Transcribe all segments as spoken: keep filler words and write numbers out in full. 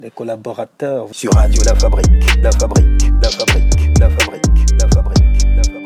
des collaborateurs sur Radio La Fabrique, La Fabrique, La Fabrique, La Fabrique, La Fabrique, La Fabrique.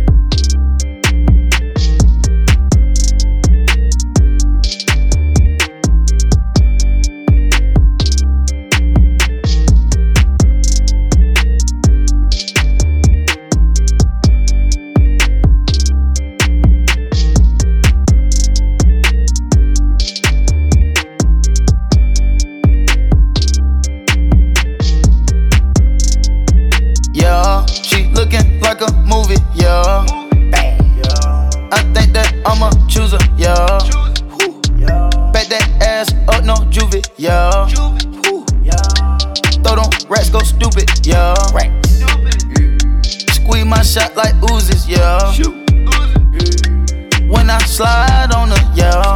Yeah. Throw them rats, go stupid, yeah. Squeeze my shot like oozes, yeah. When I slide on her, yeah.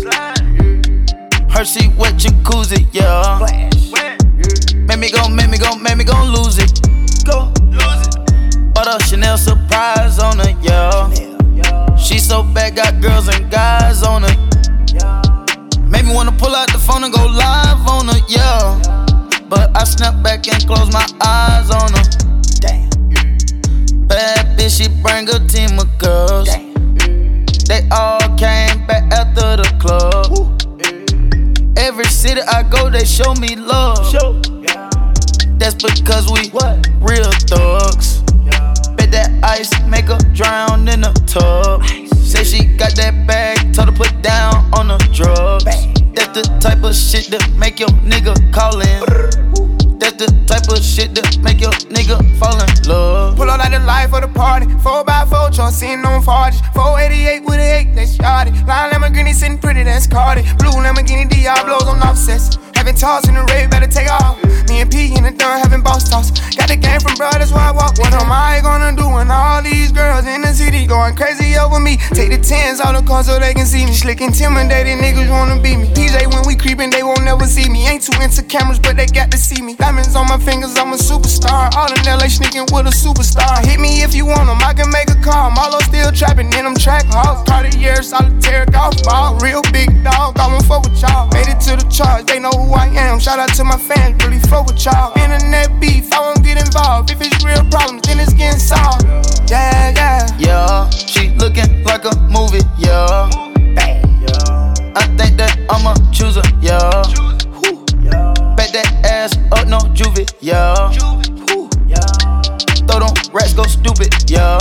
Hershey wet jacuzzi, yeah. Make me go, make me go, make me go lose it. Go lose it. Bought a Chanel surprise on her, yeah. She so bad, got girls and guys on her. Made me wanna pull out the phone and go live on her, yeah. But I snap back and close my eyes on her. Damn. Bad bitch, she bring a team of girls. Damn. They all came back after the club. Woo. Every city I go, they show me love. Show. Yeah. That's because we what? Real thugs. Yeah. Bet that ice make her drown in the tub. Ice. Say she got that bag, told her put down on the drugs. Bang. That's the type of shit that make your nigga callin'. That's the type of shit that make your nigga fall in love. Pull up like the life of the party. four by four, John sitting on forties. four eighty-eight with an eight, that's yachty. Line Lamborghini sitting pretty, that's Cardi. Blue Lamborghini Diablos on offsets. Having toss in the raid, better take off. Me and P in the dun having boss toss. Got the game from bro, that's why I walk. What am I gonna do when all these girls in the city going crazy over me? Take the tens out the car so they can see me. Slick intimidated niggas wanna beat me. P J when we creepin', they won't never see me. Ain't too into cameras, but they got to see me. Diamonds on my fingers, I'm a superstar. All in L A sneaking with a superstar. Hit me if you want them, I can make a call. Marlo still trapping in them track halls. Cartier, solitaire, golf ball. Real big dog, I won't fuck with y'all. Made it to the charge, they know who I am. Shout out to my fans, really fuck with y'all. Internet beef, I won't get involved. If it's real problems, then it's getting solved. Yeah, yeah. Yeah, she looking like a movie, yeah. I think that I'ma choose her, yeah. Bet that ass up, no juvie, yeah. Throw them rats, go stupid, yeah.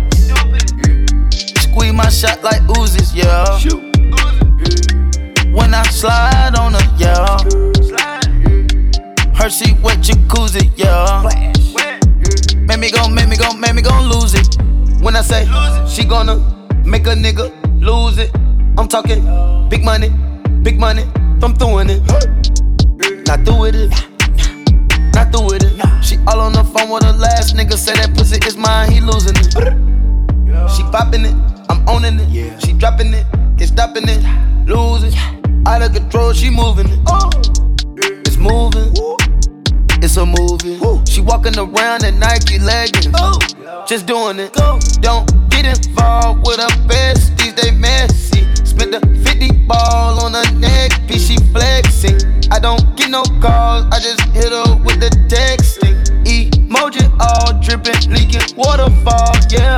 Squeeze my shot like oozes, yeah. When I slide on her, yeah. Hershey wet jacuzzi, yeah. Make me go, make me go, make me go lose it. When I say she gonna make a nigga lose it, I'm talking big money, big money, I'm throwing it. Not through with it, not through with it. She all on the phone with her last nigga, say that pussy is mine, he losing it. She popping it, I'm owning it. She dropping it, ain't stopping it, losing. Out of control, she moving it. It's moving, it's a movie. She walking around in Nike leggings, just doing it. Don't get involved with her besties, they messy. Spent the fifty ball on her neck piece, she flexing. I don't get no calls, I just hit her with the texting. Emoji all dripping, leaking waterfall, yeah.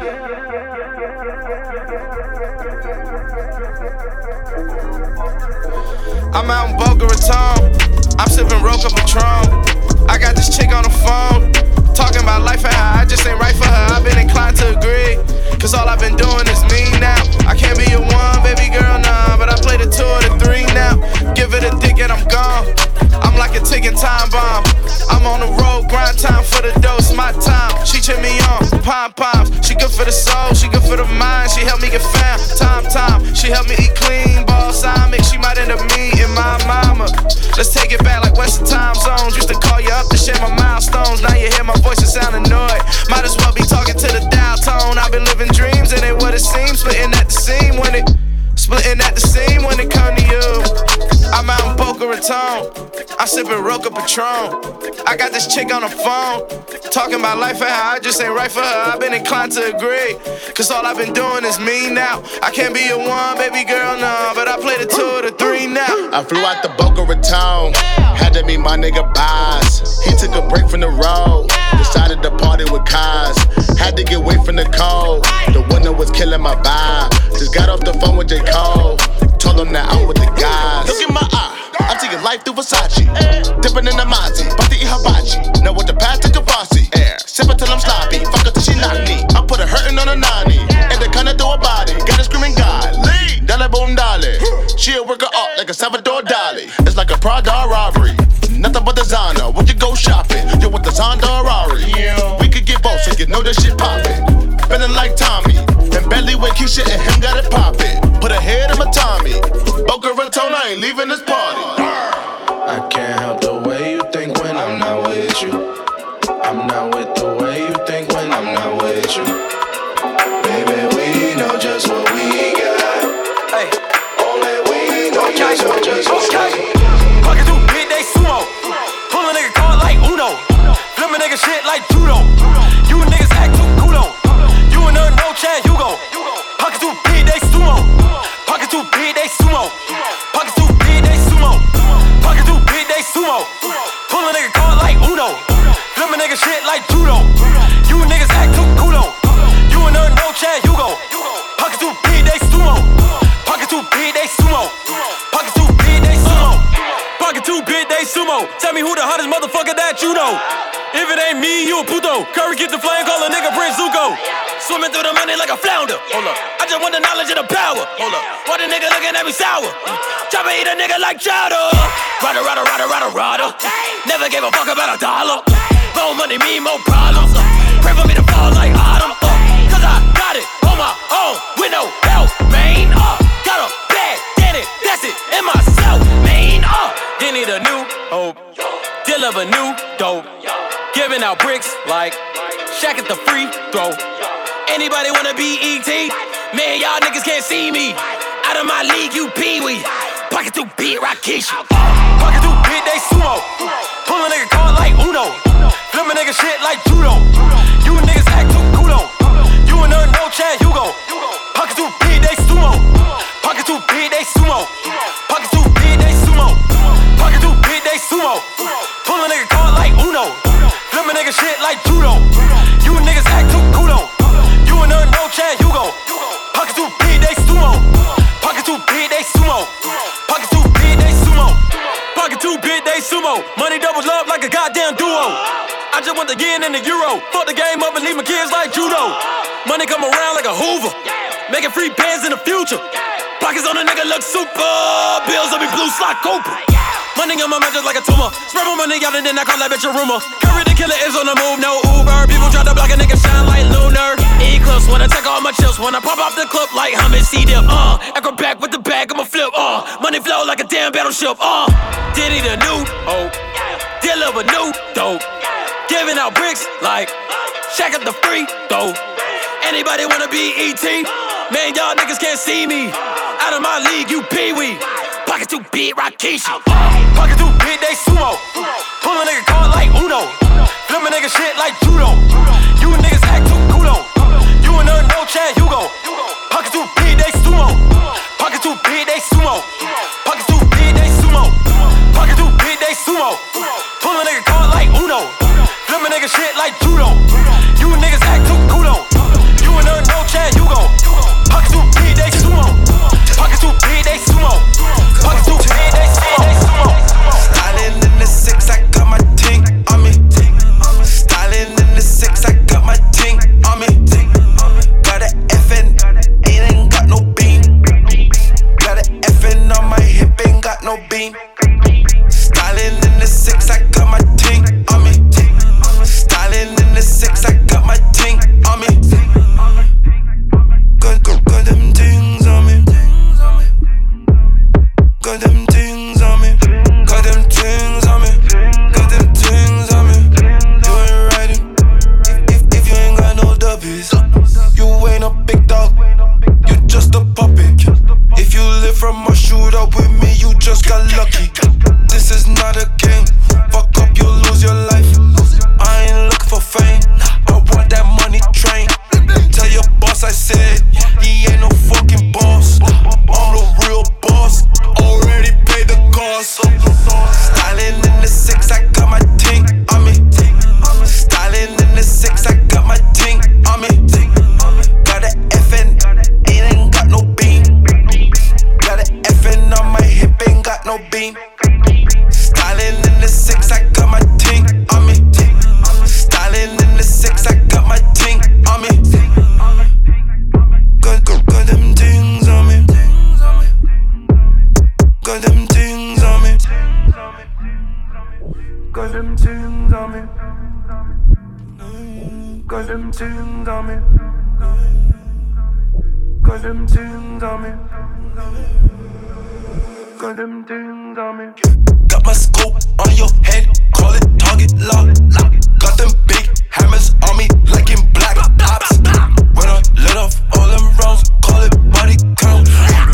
I'm out in Boca Raton, I'm sipping Roca Patron. I got this chick on the phone, talking about life and how I just ain't right for her. I've been inclined to agree, cause all I've been doing is me now. I can't be your one, baby girl, nah, but I play the two or the three now. Give it a dick and I'm gone, I'm like a ticking time bomb. I'm on the road, grind time for the dose, my time. She cheer me on, pom-poms. She good for the soul, she good for the mind. She help me get found, time, time. She help me eat clean, balsamic. She might end up meeting my mama. Let's take it back like Western time zones. Used to call you up to share my milestones. Now you hear my voice and sound annoyed. Might as well be talking to the dial tone. I've been living dreams and ain't what it seems. Splitting at the seam when it, splitting at the seam when it come to you. I'm out in Boca Raton. baritone. I'm sipping Roca Patron. I got this chick on the phone, talking about life and how I just ain't right for her. I've been inclined to agree, cause all I've been doing is me now. I can't be a one, baby girl, no, but I play the two or the three now. I flew out the Boca Raton, had to meet my nigga Boz. He took a break from the road, decided to party with Kaz. Had to get away from the cold, the winter was killing my vibe. Just got off the phone with J. Cole, told him that I'm with the guys. Look in my eye, I'm taking life through Versace. Dipping in the Mozzie, about to eat hibachi. Now with the past to Kavasi, sipping till I'm sloppy. Fuck her till she knock me. I put her hurting on a nani, and the kinda throw a body. Got her screaming God, lead, dale boom dale. She'll work her up like a Salvador Dali. It's like a Prada robbery, nothing but designer. When you go shopping, you with the Zonda Rari. We could get both, so you know that shit poppin'. Feeling like Tommy, and Bentley with Keisha and him got it poppin'. Put a head in my Tommy, Boca Raton, I ain't leaving this party. I can't help the way you think when I'm not with you. I'm not with the way you think when I'm not with you. Baby, we know just what we got. Hey, only we know okay. just what just what okay. we got. Fuckin' through big day sumo, pull a nigga card like Uno, flip a nigga shit like judo. You niggas act too kudo. You and her no Chad Hugo. Pocket too big day sumo, pocket too big day sumo, pocket too big day sumo, pocket too big day sumo. Pull a nigga card like Uno, flip a nigga shit like judo. You niggas act too kudo. You and her no Chad Hugo. Pocket too big day sumo, pocket too big day sumo, pocket too big day sumo, pocket too big day sumo. Tell me who the hottest motherfucker that you know. If it ain't me, you a puto. Curry get the flame, call a nigga Prince Zuko. Swimming through the money like a flounder. Hold up, I just want the knowledge and the power. Hold up, why the nigga looking at me sour? Try to eat a nigga like chowder. Rider, rider, rider, rider, rider. Never gave a fuck about a dollar. More money mean more problems. Pray for me to fall like autumn. Cause I got it on my own with no help, man. Uh, got a bag, did it, that's it, in myself, man. Uh, they need a new hope, deal of a new dope. Giving out bricks like Shaq at the free throw. Anybody wanna be E T? Man, y'all niggas can't see me. Out of my league, you pee-wee. Pocket too big, Rakisha. Pocket too big, they sumo. Pull a nigga card like Uno. Flip a nigga shit like judo. You niggas act too kudo. You and her no Chad Hugo. Pocket too big, they sumo. Pocket too big, they sumo. Pocket too big, they sumo. Pocket too big, they sumo. Pull a nigga card like Uno. Flip a nigga shit like judo. You niggas act too kudo. You and her no Chad Hugo. Pocket too big, they sumo. Pocket too big, they sumo. Pocket too big, they sumo. Pocket too big, they sumo. Money doubles up like a goddamn duo. I just want the yen and the euro. Fuck the game up and leave my kids like judo. Money come around like a Hoover. Making free bands in the future. Pockets on a nigga look super. Bills on me blue slot Cooper. Money on my mind just like a tumor. Spread my money out and then I call that bitch a rumor. Curry the killer is on the move, no Uber. People try to block a nigga shine like lunar. Eclipse when I take all my chips. When I pop off the clip like Hummus C-Dip. Uh, acrobat with the bag, I'ma flip. Uh, money flow like a damn battleship. Uh, Diddy the new hope. Deal of a new dope. Giving out bricks like Shaq at the free throw. Anybody wanna be E T? Man, y'all niggas can't see me. Out of my league, you pee-wee. Pocket too big, Rakisha. Pocket too big, they sumo. Pull a nigga card like Uno. Flip a nigga shit like judo. You niggas act too kudo. You and her no Chad Hugo. Pocket too big, they sumo. Pocket too big, they sumo. Pocket too big, they sumo. Pocket too big, they sumo. Pull a nigga card like Uno. Flip a nigga shit like judo. You niggas act too kudo. You and her no Chad Hugo. Pocket too big, they sumo. Pocket too big, they sumo. Pocket too big, they sumo. Styling in the six, I got my ting on me. Styling in the six, I got my ting on me. Got an F N, ain't ain't got no beam. Got an F N on my hip, ain't got no beam. Styling in the six, I got my ting on me. Styling in the six, I got my ting Got them things on me. Got them things on me. Got them things on me. Got them things on me. Got my scope on your head, call it target lock. Got them big hammers on me, like in black ops. When I let off all them rounds, call it body count.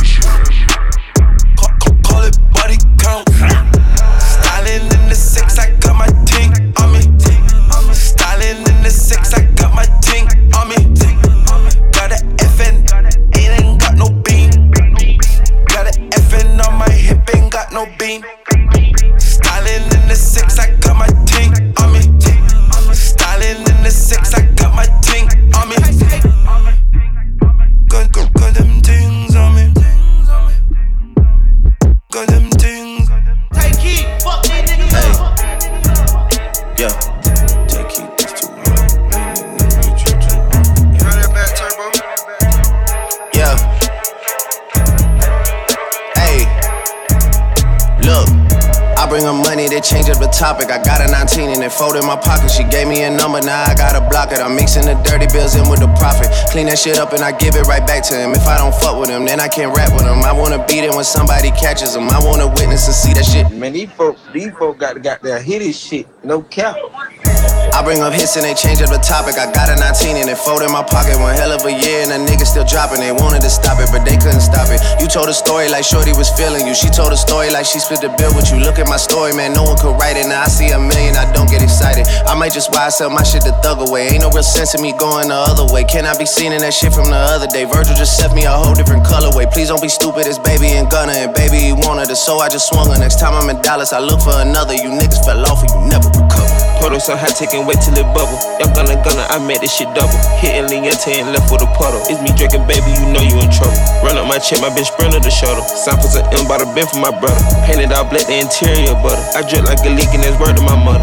Call, call, call it body count. Styling in the six, I got my ting on me. Styling in the six, I got my ting on me. Got a F N, it ain't got no beam. Got a F N on my hip, ain't got no beam. Styling in the six, I got my ting on me. Styling in the six, I got my ting on me. Got, got, got them things on me. Got them things. Take heat, fuck these niggas up. Yeah. Take heat, that's too hard. Run that back, turbo. Yeah. Hey. Look. I bring her money, they change up the topic. I got a nineteen and it folded in my pocket. She gave me a number, now I gotta block it. I'm mixing the dirty bills in with the profit. Clean that shit up and I give it right back to him. If I don't fuck with him, then I can't rap with him. I wanna beat it when somebody catches him. I wanna witness and see that shit. Man, these folk, these folk got to got their hit this shit, no cap. I bring up hits and they change up the topic. I got a nineteen and it folded in my pocket. One hell of a year and the niggas still dropping. They wanted to stop it, but they couldn't stop it. You told a story like Shorty was feeling you. She told a story like she split the bill with you. Look at my story, man, no one could write it. Now I see a million, I don't get excited. I might just buy sell my shit to thug away. Ain't no real sense in me going the other way. Can I be seen in that shit from the other day? Virgil just sent me a whole different colorway. Please don't be stupid, it's baby and Gunna. And baby, he wanted it, so I just swung her. Next time I'm in Dallas, I look for another. You niggas fell off and you never recover. Puddle so high, take and wait till it bubble. Young gunna gunna, I made this shit double. Hitting Liente and left with a puddle. It's me drinking, baby, you know you in trouble. Run up my chest, my bitch sprinter the shoulder. Samples of M by the bin for my brother. Painted all black, the interior butter. I drip like a leak and that's word to my mother.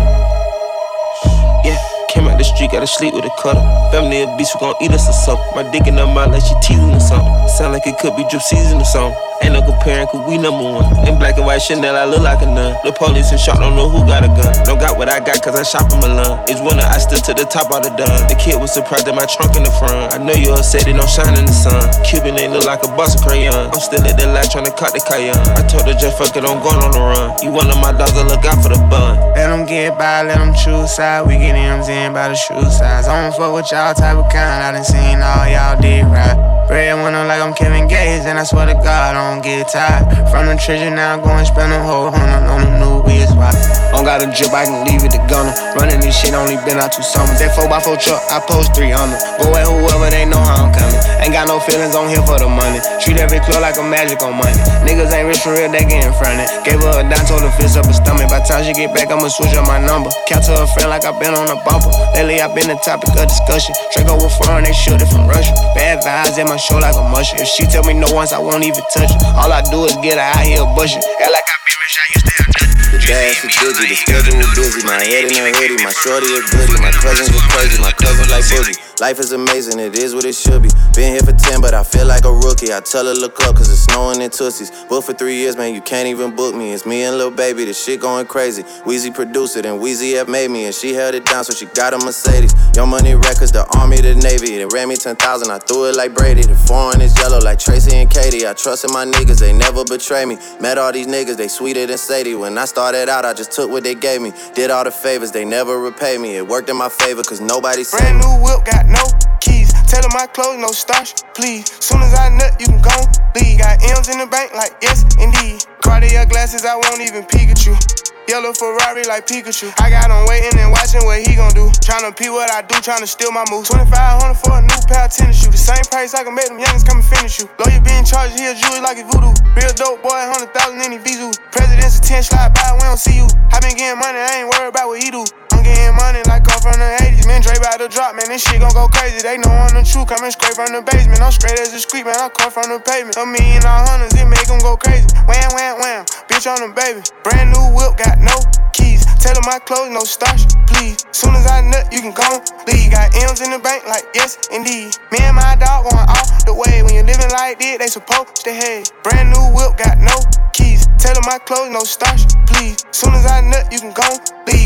Yeah, came out the street, gotta sleep with a cutter. Family of beast, we gon' eat us or something. My dick in her mouth like she teasing or something. Sound like it could be drip season or something. Ain't no comparing, cause we number one. In black and white Chanel, I look like a nun. The police and shot, don't know who got a gun. Don't got what I got, cause I shop in Milan. It's winter, I stood to the top of the dun. The kid was surprised at my trunk in the front. I know you upset, it don't shine in the sun. Cuban ain't look like a box of crayon. I'm still at the light tryna cut the cayenne. I told her just fuck it, I'm going on the run. You one of my dogs, I look out for the bun. Let them get by, let them choose side. We get M's in by the shoe size. I don't fuck with y'all type of kind. I done seen all y'all did right. Bread winner like I'm Kevin Gates, and I swear to God, I don't get tired. From the treasure now, I'm going spend a whole hundred on the new wheels. Don't got a drip, I can leave it to gunner. Running this shit, only been out two summers. That four by four truck, I post three hundred. Go at whoever, they know how I'm coming. Ain't got no feelings on here for the money. Treat every club like a magic on money. Niggas ain't rich for real, they getting fronted. Gave her a dime, told her fist up her stomach. By the time she get back, I'ma switch up my number. Count to her friend like I been on a bumper. Lately, I been the topic of discussion. Draco with foreign, they shoot it from Russia. Bad vibes at my show like a musher. If she tell me no once, I won't even touch her. All I do is get her out here bushing. Act like I been rich, I used to have nothing. The dash is busy, the schedule is busy. My head in a hoodie, my shorty is goody. My cousins is crazy, my cousins like boogie. Life is amazing, it is what it should be. Been here for ten, but I feel like a rookie. I tell her look up, cause it's snowing in Tootsies. Booked for three years, man, you can't even book me. It's me and Lil Baby, the shit going crazy. Weezy produced it, and Weezy F made me. And she held it down, so she got a Mercedes. Young Money Records, the Army, the Navy. They ran me ten thousand, I threw it like Brady. The foreign is yellow like Tracy and Katie. I trusted my niggas, they never betray me. Met all these niggas, they sweeter than Sadie. When I started out, I just took what they gave me. Did all the favors, they never repay me. It worked in my favor, cause nobody saved me. Brand new whip, got no keys. Tell them my clothes, no starch, please. Soon as I nut, you can go leave. Got M's in the bank, like yes, indeed. Cartier glasses, I won't even peek at you. Yellow Ferrari like Pikachu. I got him waiting and watching what he gon' do. Tryna pee what I do, tryna steal my moves. twenty-five hundred for a new pair of tennis shoes. The same price I can make them youngins come and finish you. Lawyer being charged, he a jewelry like a voodoo. Real dope boy, one hundred thousand in his Vizu. President's a ten slide by, we don't see you. I been getting money, I ain't worried about what he do. I'm getting money like come from the eighties. Man, Dre bout to drop, man, this shit gon' go crazy. They know I'm the truth, coming straight from the basement. I'm straight as a street, man, I come from the pavement. A million all hundreds, it make them go crazy. Wham, wham, wham, bitch on the baby. Brand new whip, got no keys. Tell them my clothes, no starch, please. Soon as I nut, you can go leave. Got M's in the bank, like yes, indeed. Me and my dog going all the way. When you living like this, they supposed to hate. Brand new whip, got no keys. Tell them my clothes, no starch, please. Soon as I nut, you can go leave.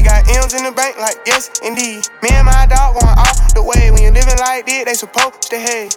M's in the bank like yes, indeed. Me and my dog going off the way. When you living like this, they supposed to hate.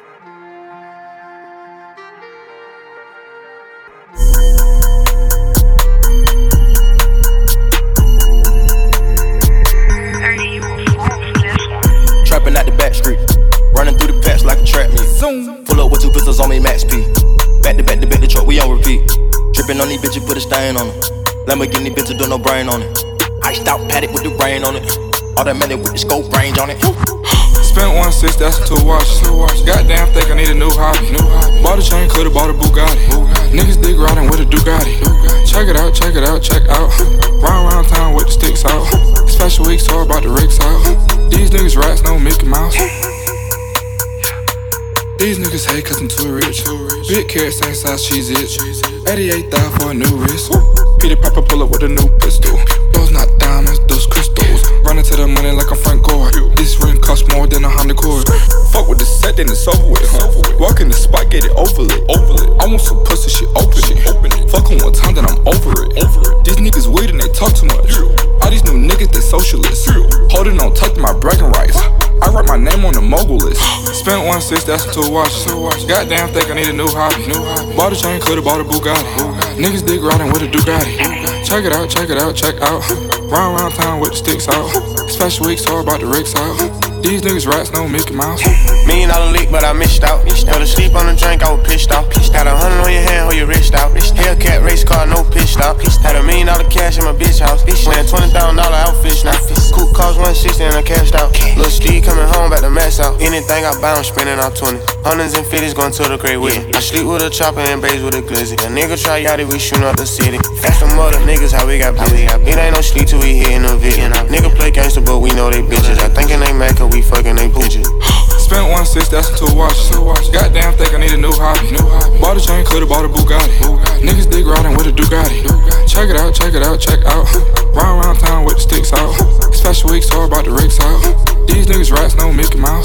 Trapping out the back street, running through the patch like a trap meet. Zoom. Pull up with two pistols on me, max P. Back to back to back, the truck we on repeat. Tripping on these bitches, put a stain on it. Lamborghini bitches, do no brain on it. Iced out paddock with the rain on it. Automatic with the scope range on it. Spent one six, that's two watches. Goddamn, think I need a new hobby. Bought a chain, coulda bought a Bugatti. Niggas dig riding with a Ducati. Check it out, check it out, check out. Round round town with the sticks out. It's fashion week, so about the rigs out. These niggas rats, no Mickey Mouse. These niggas hate cause I'm too rich. Big carrot, same size cheese it. eighty-eight thousand for a new wrist. Peter Piper pull up with a new pistol. Those not diamonds, those crystals. Running to the money like I'm Frank Gore. This ring costs more than a Honda Accord. Fuck with the set, then it's over with, huh? Walk in the spot, get it over it. I want some pussy, shit, open it. Fuck on one time, then I'm over it. These niggas weird and they talk too much. All these new niggas, they socialists. Holding on tight to my bragging rights. I write my name on the mogul list. Spent one six, that's two watches. Goddamn, think I need a new hobby. Bought a chain, coulda bought a Bugatti. Niggas dig riding with a Ducati. Check it out, check it out, check out. Round round town with the sticks out. It's fashion week, so about the rigs out. These niggas rats, no Mickey Mouse. Million dollar leak, but I missed out. Fell asleep on the drink, I was pissed off. Got a hundred on your hand, hold your wrist out. Hellcat race car, no pitch stop. Had a million dollar cash in my bitch house. Wearing twenty thousand dollar outfits now. Coupe cost one sixty and I cashed out. Lil' Steve coming home, back to max out. Anything I buy, I'm spending out twenty. Hundreds and fifties going to the crate with it. I sleep with a chopper and bays with a glizzy. A nigga try yachty, we shooting up the city. That's the mother niggas, how we got busy. It ain't no sleep till we hitting the vision. Nigga play gangster, but we know they bitches. I thinking they mad cause we fucking they pooches. Spent one six, that's two watches. Goddamn, think I need a new hobby. Bought a chain, coulda bought a Bugatti. Niggas dig riding with a Ducati. Check it out, check it out, check out. Round round town with the sticks out. It's fashion week, so about the rigs out. These niggas rats, no Mickey Mouse.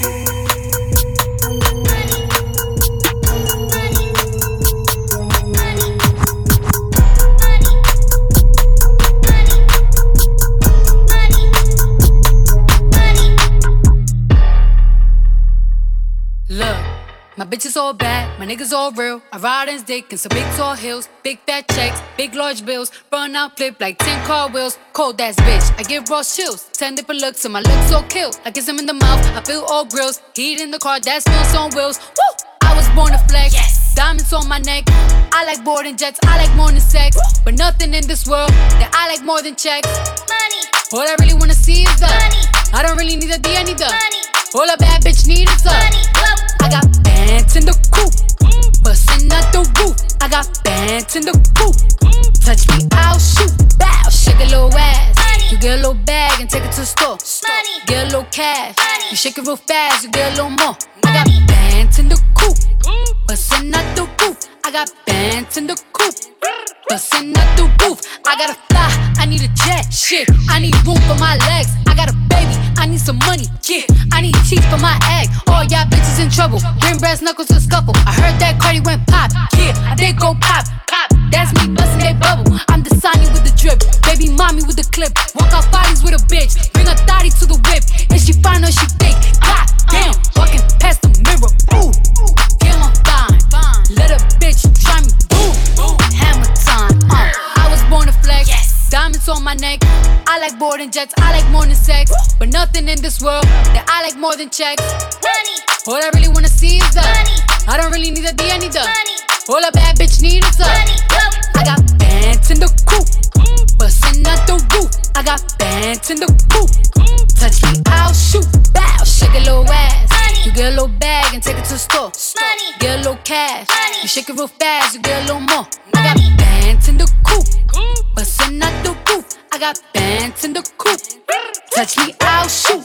My bitches all bad, my niggas all real. I ride in dick in some big tall hills, big fat checks, big large bills. Run out, flip like ten car wheels. Cold ass bitch, I give raw chills. Ten different looks and my looks so kill. I kiss him in the mouth, I feel all grills. Heat in the car, that smells on wheels. Woo! I was born to flex, yes. Diamonds on my neck. I like boarding jets, I like more than sex. Woo! But nothing in this world that I like more than checks. Money. All I really wanna see is the money. I don't really need a D, I need the money. All a bad bitch need is the money. I got bands in the coupe, bustin' out the roof. I got bands in the coupe. Touch me, I'll shoot. Bow, shake a little ass. You get a little bag and take it to the store. Get a little cash. You shake it real fast, you get a little more. I got bands in the coupe, bustin' out the roof. I got bands in the coupe, bustin' out the roof. I gotta fly, I need a jet. Shit, I need room for my legs. I got a baby, I need some money. Yeah, I need teeth for my egg. All y'all bitches in trouble. Bring brass knuckles to scuffle. I heard that Cardi went pop. Yeah, I did go pop. Pop. That's me bustin' that bubble. I'm the Sonny with the drip. Baby mommy with the clip. Walk out bodies with a bitch. Bring a thotty to the whip. Is she fine or she fake? God damn, walking past the mirror. Ooh, damn, I'm fine. Let a bitch try me. Ooh, hammer time. Uh, I was born to flex. Diamonds on my neck. I like boarding jets, I like more than sex. But nothing in this world that I like more than checks. Money. All I really wanna see is the money. I don't really need a D, I need the money. All a bad bitch need is the money. I got bands in the coupe, bustin' out the roof. I got bands in the coupe. Touch me, I'll shoot. Bow, shake a little ass. Money. You get a little bag and take it to the store. Money. Get a little cash. Money. You shake it real fast, you get a little more. I got bands in the coupe, bustin' out the roof. I got bands in the coupe. Touch me, I'll shoot.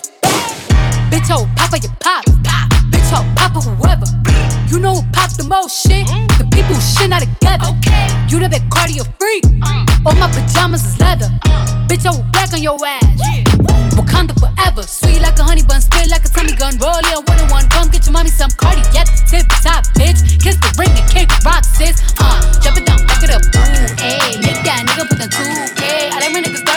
Bitch, oh, papa, you pop. Bitch, oh, papa, whoever. You know who pop the most shit? The people who shit not together. You the big cardio freak. All my pajamas is leather. Bitch, I will black on your ass. Wakanda forever. Sweet like a honey bun, spit like a Tommy gun. Roll it on one and one. Come get your mommy some Cardi at the tip top, bitch. Kiss the ring and kick rock, sis. Uh, drop it down, back it up. Ooh, ayy. Make that nigga put the two K. I like when niggas start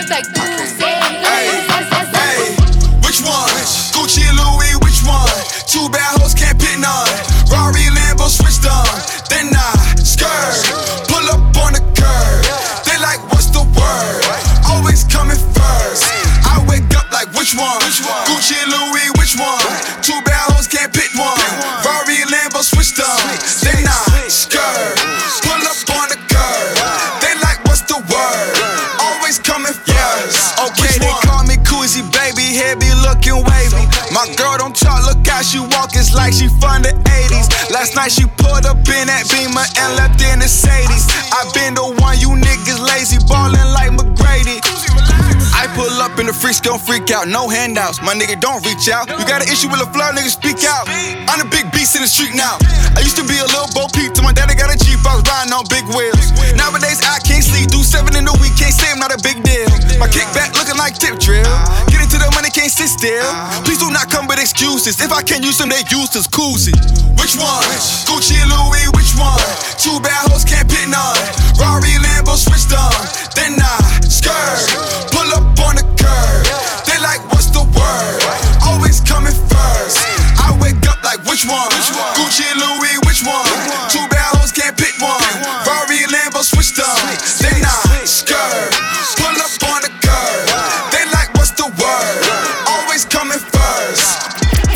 like Gucci. Hey, hey, which one? Gucci and Louis, which one? Two bad hoes can't pick none. Rari, Lambo, switched on. Then I skirt, pull up on the curb. They like, what's the word? Always coming first. I wake up like, which one? Gucci and Louis, which one? Two bad hoes can't pick one. Rari, Lambo, switched on. Then I skirt, pull up on the curb. They like, what's the word? Always coming first. Okay, they call me Koozie, baby, hair be looking wavy. My girl don't talk, look how she walk, it's like she from the eighties. Last night she pulled up in that Beamer and left in the Sadies. I been the one, you niggas lazy, ballin' like McGrady. I pull up in the freaks, gon' freak out, no handouts. My nigga don't reach out. You got an issue with a flow, nigga, speak out. I'm the big beast in the street now. I used to be a little Bo Peep till my daddy got a Jeep, I was riding on big wheels. Nowadays I can't sleep, do seven in the week, can't say I'm not a big deal. My kickback looking like tip drill. Get into the money, can't sit still. Please do not come with excuses. If I can't use them, they useless. Koozie. Which one? Gucci and Louis, which one? Two bad hoes can't pick none. Rari, Lambo, switched on. Then I skirt, pull up on the curb. They like, what's the word? Always coming first. I wake up like, which one? Gucci and Louis, which one? Two bad hoes can't pick one. Rari, Lambo, switched on. Then I skirt, pull up on the curb. They like, what's the word? Always coming first.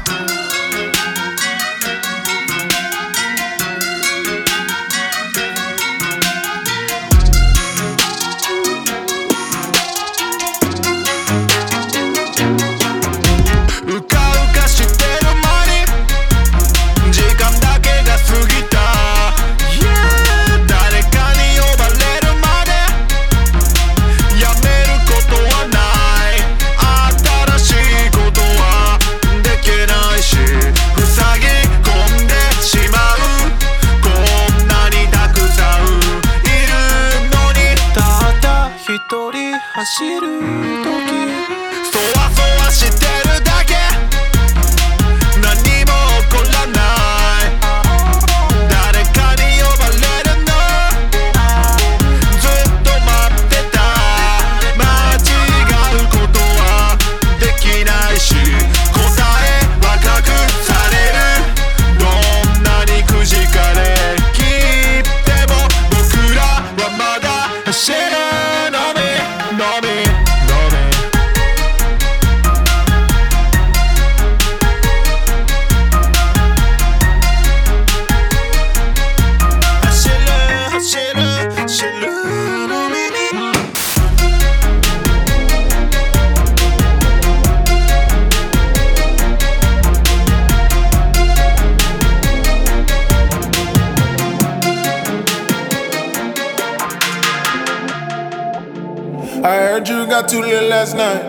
Got too little last night.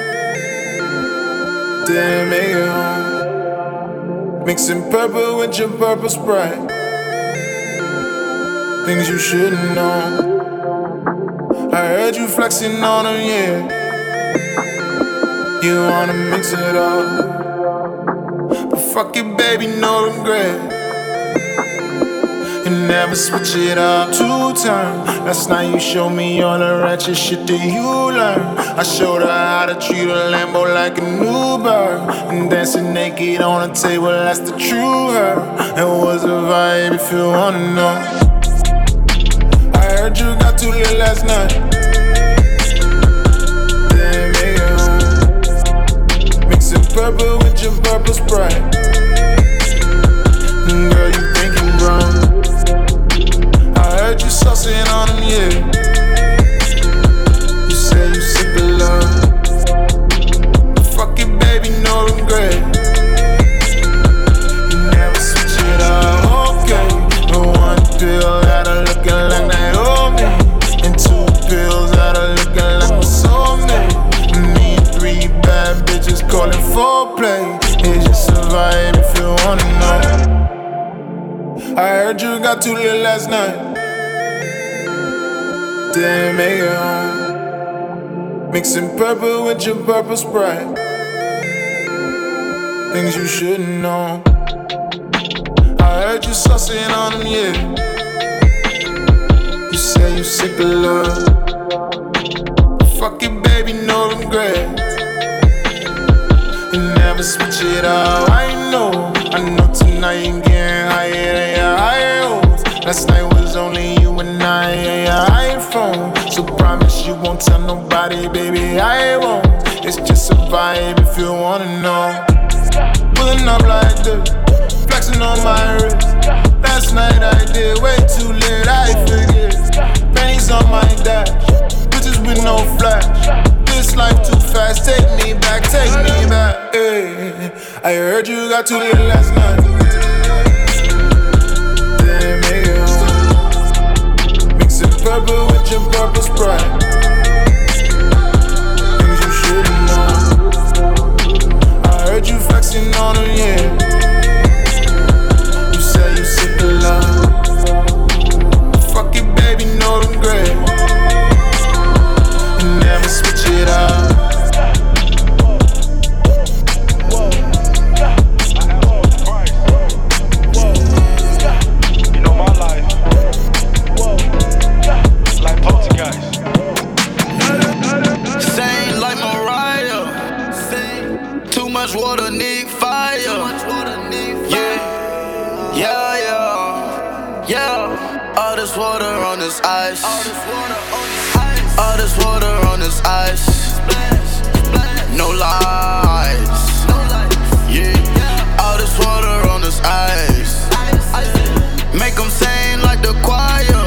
Didn't make it home. Mixing purple with your purple Sprite. Things you shouldn't know. I heard you flexing on them, yeah. You wanna mix it up, but fuck it, baby, no regret. You never switch it up two times. Last night you showed me all the ratchet shit that you learned. I showed her how to treat a Lambo like an Uber, and dancing naked on the table, that's the true her. It was a vibe if you wanna know. I heard you got too little last night. Didn't make it home. Mixing purple with your purple Sprite. Girl, you thinking wrong. I heard you saucing on them, yeah. You say you sick of love. Fuck it, baby, no regret. You never switch it up, okay. The one pill got her looking like Naomi, and two pills got her looking like my soulmate. Need three bad bitches calling for play. It's just a vibe if you wanna know. I heard you got too little last night. Didn't make it home. Mixing purple with your purple Sprite. Things you shouldn't know. I heard you saucing on them, yeah. You say you sick of love. Fuck it, baby. grade. You never switch it up, I know. I know tonight you getting higher than your higher hopes. Last night was only you and I and your iPhone. So promise you won't tell nobody, baby, I won't. It's just a vibe if you wanna know. Pulling up like this, flexing on my wrist. Last night I did way too late, I forget. Pennies on my dash, bitches with no flash. This life too fast, take me back, take me back. Hey, I heard you got too lit last night. Then make it home. Mix it purple with your purple Sprite. Things you shouldn't know. I heard you flexing on them, yeah. You say you sick of love. Fuck it, baby, know them great. You never switch it up. You know my life. Like Poltergeist. Same like Mariah. Too much water, need fire. Yeah, yeah, yeah, yeah. All this water on this ice. All this water on this ice. No lies. Yeah. All this water on this ice. Make them sing like the choir.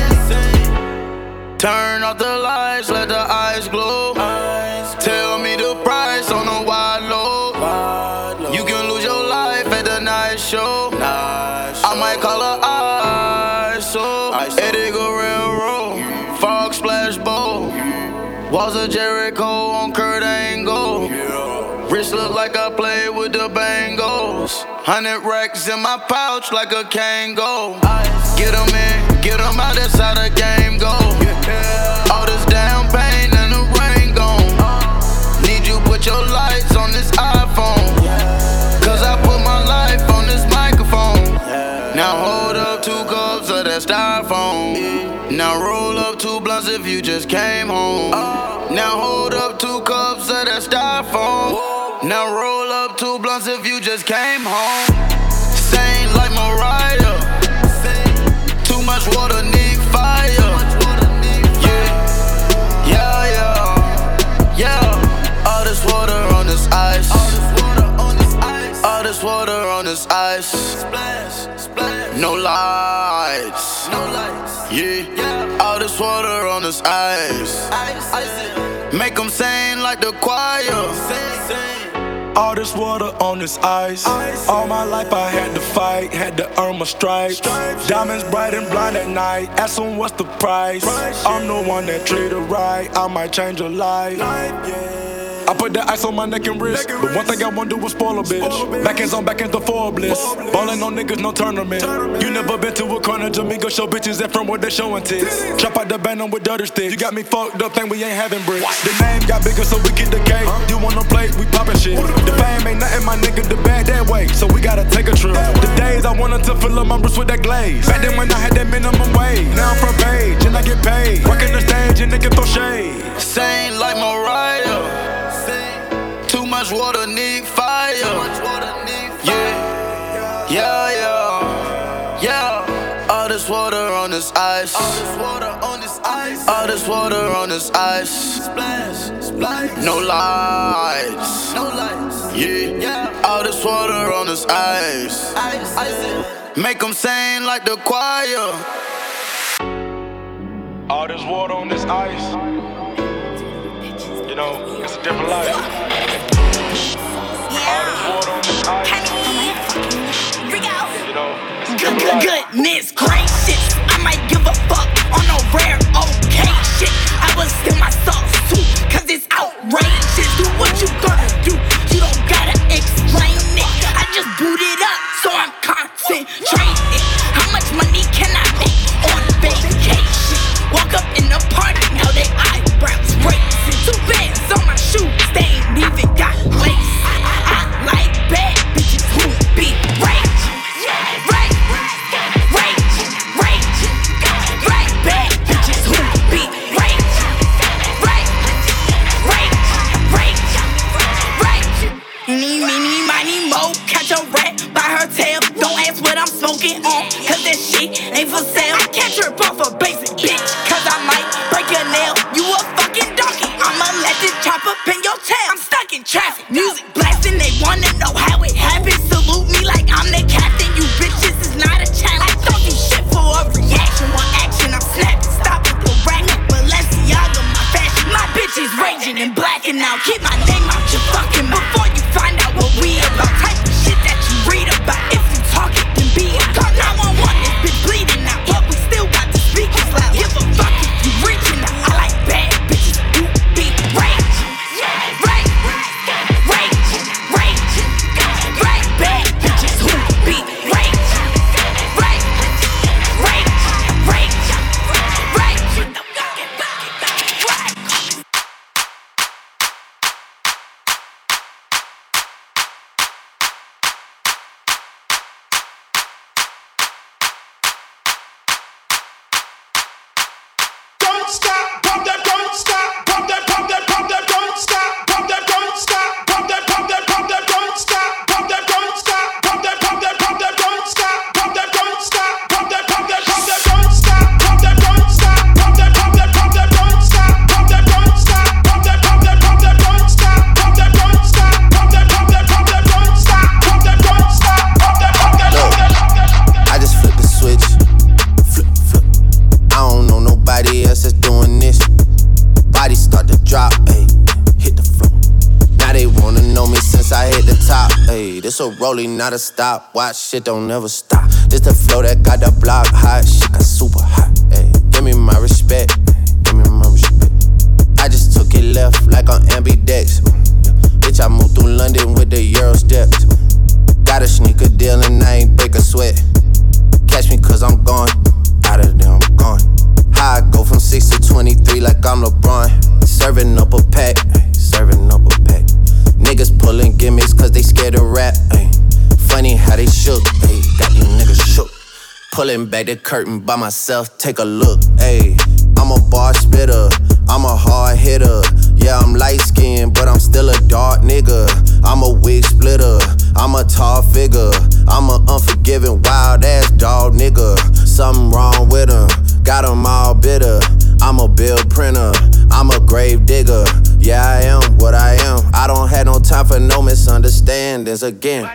Turn off the lights, let the eyes glow. Tell me the price on the wide low. You can lose your life at the night show. I might call her I S O. Edgar Railroad, fog splash bowl. Walls of Jericho on Kurt Angle. Wrist look like I played with the Bengals. Hundred racks in my pouch like a Kango. Get them in, get them out, that's how the game go. All this down pain and the rain gone. Need you put your lights on this iPhone. Cause I put my life on this microphone. Now hold up two cups of that styrofoam. Now roll up two blunts if you just came home. Now hold up two cups of that styrofoam. Now roll up two blunts if you just came home. Same like Mariah. Too much water, need fire. Yeah, yeah, yeah, yeah. All this water on this ice. All this water on this ice. No lights. Yeah, all this water on this ice. Make them sing like the choir. All this water on this ice. All my life I had to fight, had to earn my stripes. Diamonds bright and blind at night. Ask them what's the price. I'm the one that treat her right. I might change her life. I put the ice on my neck and wrist. But one thing I won't do is spoil a bitch. Backhands on backhands, the four bliss. Ballin' on niggas, no tournament. You never been to a corner, Jamaica show bitches that from where they showing tits. Trap out the band on with dirty sticks. You got me fucked up, think we ain't having bricks. The name got bigger, so we get the cake. You wanna play, we poppin' shit. The fame ain't nothing, my nigga, the bag that way. So we gotta take a trip. The days I wanted to fill up my wrist with that glaze. Back then when I had that minimum wage. Now I'm front page and I get paid. Working the stage and nigga throw shade. Same like Mariah. Too much water, need fire. Yeah, yeah, yeah, yeah. All this water on this ice. All this water on this ice. All this water on this ice. Splash, splash. No lights. No lights. Yeah, all this water on this ice. Ice, ice. Make them sing like the choir. All this water on this ice. You know, it's a different life. All this water on this ice. You know, it's a different life. Goodness gracious, I might give a fuck on no rare okay shit. I was in my sauce too, cause it's outrageous. Do what you gonna do, you don't gotta explain it. I just boot it up, so I'm concentrated. How much money can I make on vacation? Walk up in the party, now they eyebrows raising. Two bands on my shoes, they ain't even got lace. I like bad bitches who be raging. Right, rage, rage. Like bad bitches who be raging. Right, rage, trip off a basic bitch. Cause I might break your nail, you a fucking donkey. I'ma let this chopper pin your tail. I'm stuck in traffic, music blasting, they wanna know how it happened. Salute me like I'm the captain, you bitches is not a challenge. I don't do shit for a reaction, one action, I'm snapping. Stop with the racket, Balenciaga, my fashion. My bitch is raging and blacking out. Keep my name out your fucking before you find out what we about. Type of shit that you read about. If you talk it, then be it. Call nine one one, this bitch bleeding out. But we still got the speakers loud. Give a fuck if you reaching out. I like bad bitches who be rage. Rage, rage, rage, rage. Bad bitches who be rage. Rage, rage, rage, rage. Don't stop, pump that, don't stop, pump that, pump that, pump that, don't stop, pump that, don't stop, pump that, pump that, pump that, don't stop, pump that, don't stop, pump that, pump that, pump that, don't stop, pump that, don't stop, pump that, pump that, pump that, don't stop, pump that, don't stop, pump that, pump that, pump that, don't stop, pump that, don't stop, pump that, pump that, pump that, don't stop, pump that, don't stop, pump that, pump that, pump that, don't stop, pump that, don't stop, pump that, pump that, pump that. I just flip the switch. Flip, flip. I don't know nobody else that's doing this. Bodies start to drop, ayy, hit the floor. Now they wanna know me since I hit the top, ayy. This a rolling, not a stop. Watch shit don't never stop. This the flow that got the block hot. Shit got super hot, ayy. Give me my respect, give me my respect. I just took it left like on ambidex. Bitch, I moved through London with the Euro steps. Got a sneaker deal and I ain't break a sweat. Catch me cause I'm gone, out of there I'm gone. How I go from six to twenty-three like I'm LeBron. Serving up a pack, ay, serving up a pack. Niggas pulling gimmicks cause they scared to rap, ay. Funny how they shook, ay, got these niggas shook. Pulling back the curtain by myself, take a look, ay. I'm a bar spitter, I'm a hard hitter. Yeah, I'm light skinned, but I'm still a dark nigga. I'm a wig splitter, I'm a tall figure. I'm a unforgiving, wild ass dog nigga. Something wrong with him, got him all bitter. I'm a bill printer, I'm a grave digger. Yeah, I am what I am. I don't have no time for no misunderstandings again.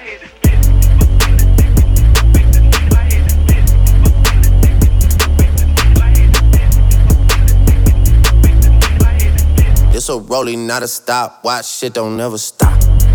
It's a rolling, not a stop. Watch shit don't never stop.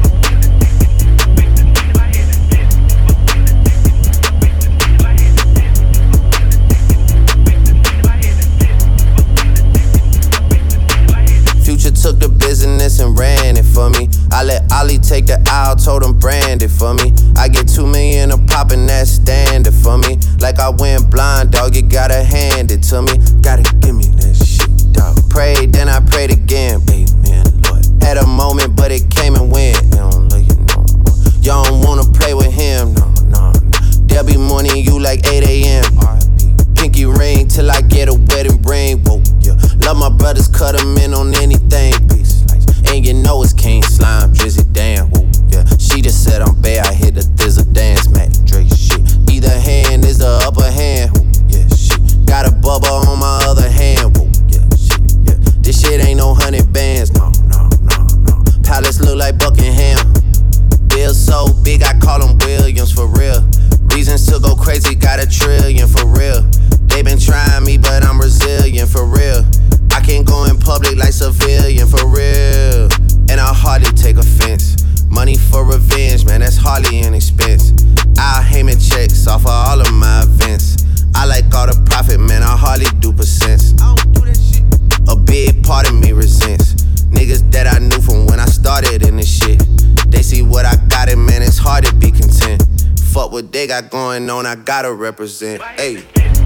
Future took the business and ran it for me. I let Ollie take the aisle, told him brand it for me. I get two million a pop and that's standard for me. Like I went blind, dog, you gotta hand it to me. Gotta give me that shit, dog. Prayed, then I prayed again, amen, Lord. Had a moment, but it came and went. I don't love you no more. Y'all don't wanna play with him, no, no, no. They'll be mourning you like eight a.m. R I P Pinky ring till I get a wedding ring, whoa, yeah. Love my brothers, cut them in on anything, peace. And you know it's King Slime, Drizzy, damn, whoa, yeah. She just said I'm bad, I hit the thizzle dance, Mac Drake shit. Either hand is the upper hand, whoa, yeah, shit. Got a bubble on my other hand, whoa, yeah, shit, yeah. This shit ain't no hundred bands, no, no, no, no. Palace look like Buckingham. Bill so big, I call him Williams for real. Reasons to go crazy, got a trillion for real. They been trying me, but I'm resilient for real. I can't go in public like civilian for real. And I hardly take offense. Money for revenge, man, that's hardly an expense. I'll Heyman checks off of all of my events. I like all the profit, man, I hardly do percents. I don't do that shit. A big part of me resents niggas that I knew from when I started in this shit. They see what I got and man, it's hard to be content. Fuck what they got going on, I gotta represent. Ayy.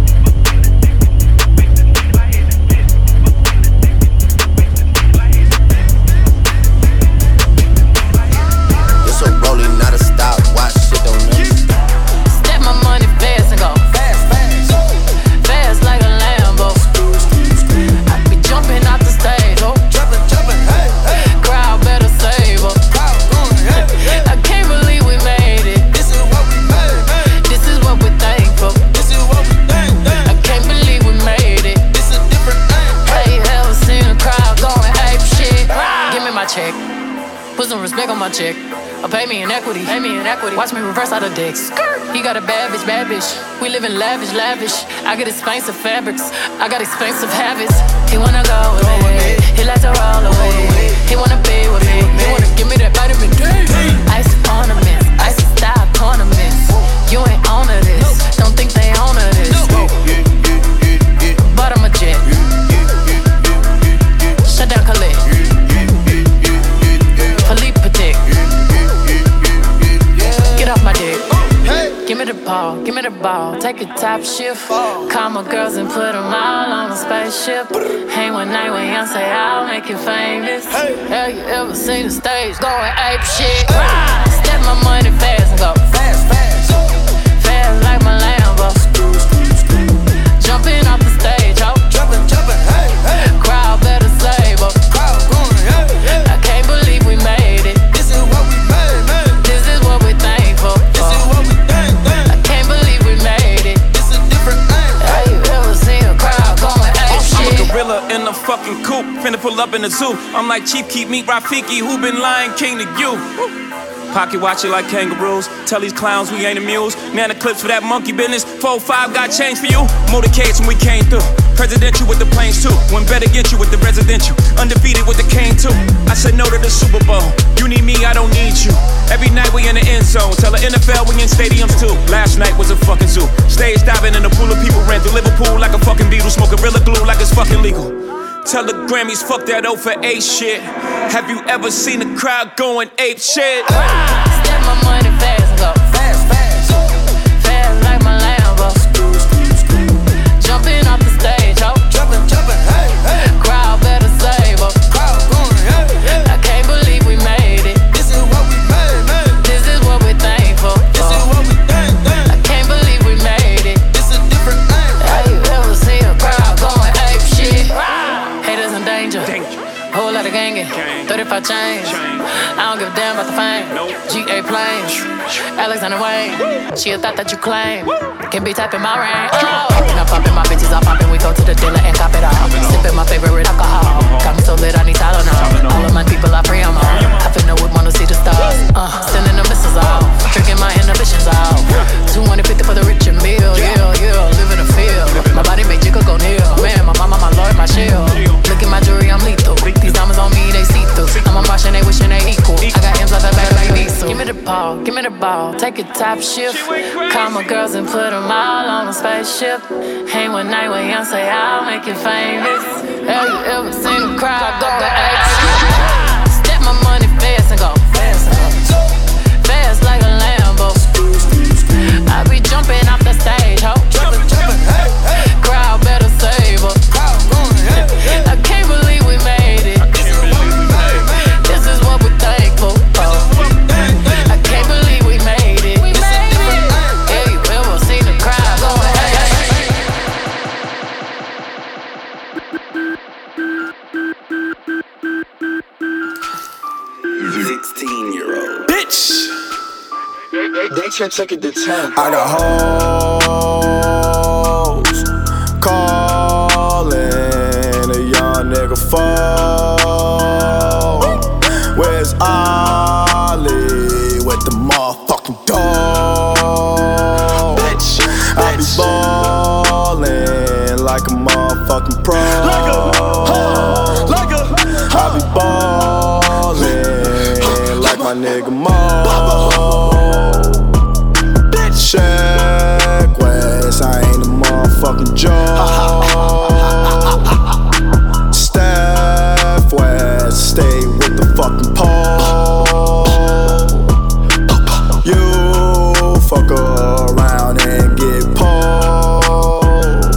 It's a rolling, not a stop. Watch shit don't never stop. Step my money fast and go fast, fast, fast like a Lambo. I be jumping out the stage, oh, jumping, jumping, hey, hey. Crowd better save her. I can't believe we made it. This is what we made. This is what we thankful. This is what we thankful. Put some respect on my check. Or pay me in equity. Pay me in equity. Watch me reverse out of dicks. He got a bad bitch, bad bitch. We live in lavish, lavish. I get expensive fabrics. I got expensive habits. He wanna go with me. He like to roll away. He wanna be with me. He wanna give me that vitamin D. Ice ornaments. Ice style ornaments. You ain't on to this. Don't think they own to this. But I'm a jet. Shut down Khalid. Philippe Patek. Get off my dick. Give me the ball, give me the ball. Take a top shift. Call my girls and put them all on a spaceship. Hang one night with Beyonce, I'll make you famous. Have you ever seen the stage going ape shit? Step my money fast and go fast, fast. Fast like my Lambo. Jumping off the stage, ho. Jumping, jumping, hey, hey. Crowd better save up. Crowd going, hey, hey. I can't believe we made it. This is what we made, man. This is what we thankful for. This is what we think, think. I can't believe we made it. This is a different thing. Have you ever seen a crowd going ape shit? I'm a gorilla in a fucking coop. Finna pull up in the zoo. I'm like Chief Keef, meet Rafiki, who been Lion King to you. Pocket watch it like kangaroos. Tell these clowns we ain't amused. Man, the clips for that monkey business. four five got change for you. Motorcades when we came through. Presidential with the planes too. When better get you with the residential. Undefeated with the cane too. I said no to the Super Bowl. You need me, I don't need you. Every night we in the end zone. Tell the N F L we in stadiums too. Last night was a fucking zoo. Stage diving in a pool of people. Ran through Liverpool like a fucking Beatle. Smoke Gorilla Glue like it's fucking legal. Tell the Grammys, fuck that O for eight shit. Have you ever seen a crowd going ape shit? Step my money fast and go fast, fast. Fast like my Lambo. Jumping off the stage, ho. Jumping, jumping, hey, hey. Crowd better save up. Crowd going, hey, hey. I can't believe we made it. This is what we made, man. This is what we thankful for. This is what we think, think. I can't believe we made it. This is a different thing. Have you ever seen a crowd going ape shit? Haters in danger. Whole lot of gangin'. thirty-five chains. I don't give a damn about the fame. G A planes. Alexander Wayne. She a thought that you claim. Can be typing my rain. Oh. Poppin', I'm poppin', my bitches are poppin'. We go to the dealer and cop it all. Sippin' my favorite alcohol. Got me so lit, I need Tylenol. All of my people are free, I'm on. I finna whip, wanna see the stars. Uh, sending the missiles out. Drinking my inhibitions out. two hundred fifty for the rich and meal. Yeah, yeah, live in the field. My body make Jigga go kneel. Man, my mama, my lord, my shield. Look at my jewelry, I'm lethal. These diamonds on me, they see through. I'm a Martian, they wishing they equal. I got M's like that back like Diesel. Give me the ball, give me the ball. Take a top shift. Call my girls and put them all on a spaceship. Hang one night with Beyonce, I'll make you famous. Have you ever seen a crowd go ape shit? Step my money fast and go fast and go. Fast like a Lambo. I be jumping off the stage, ho. Jumping, jumping, hey, hey. Crowd better save up. Crowd going, hey, hey. I can't believe we made it. This is what we're thankful for. I can't believe we made it. We made it. Have you ever seen the crowd going hey, hey. sixteen year old Bitch! They, they, they should take it to ten. I got hoes calling a young nigga phone. Where's Ollie with the motherfucking dog? Bitch, I be ballin' like a motherfucking pro. Like a, huh, like a, huh. I be ballin' like my nigga Mo. Check West, I ain't a motherfucking joke. Steph West, stay with the fucking pole. You fuck around and get pulled.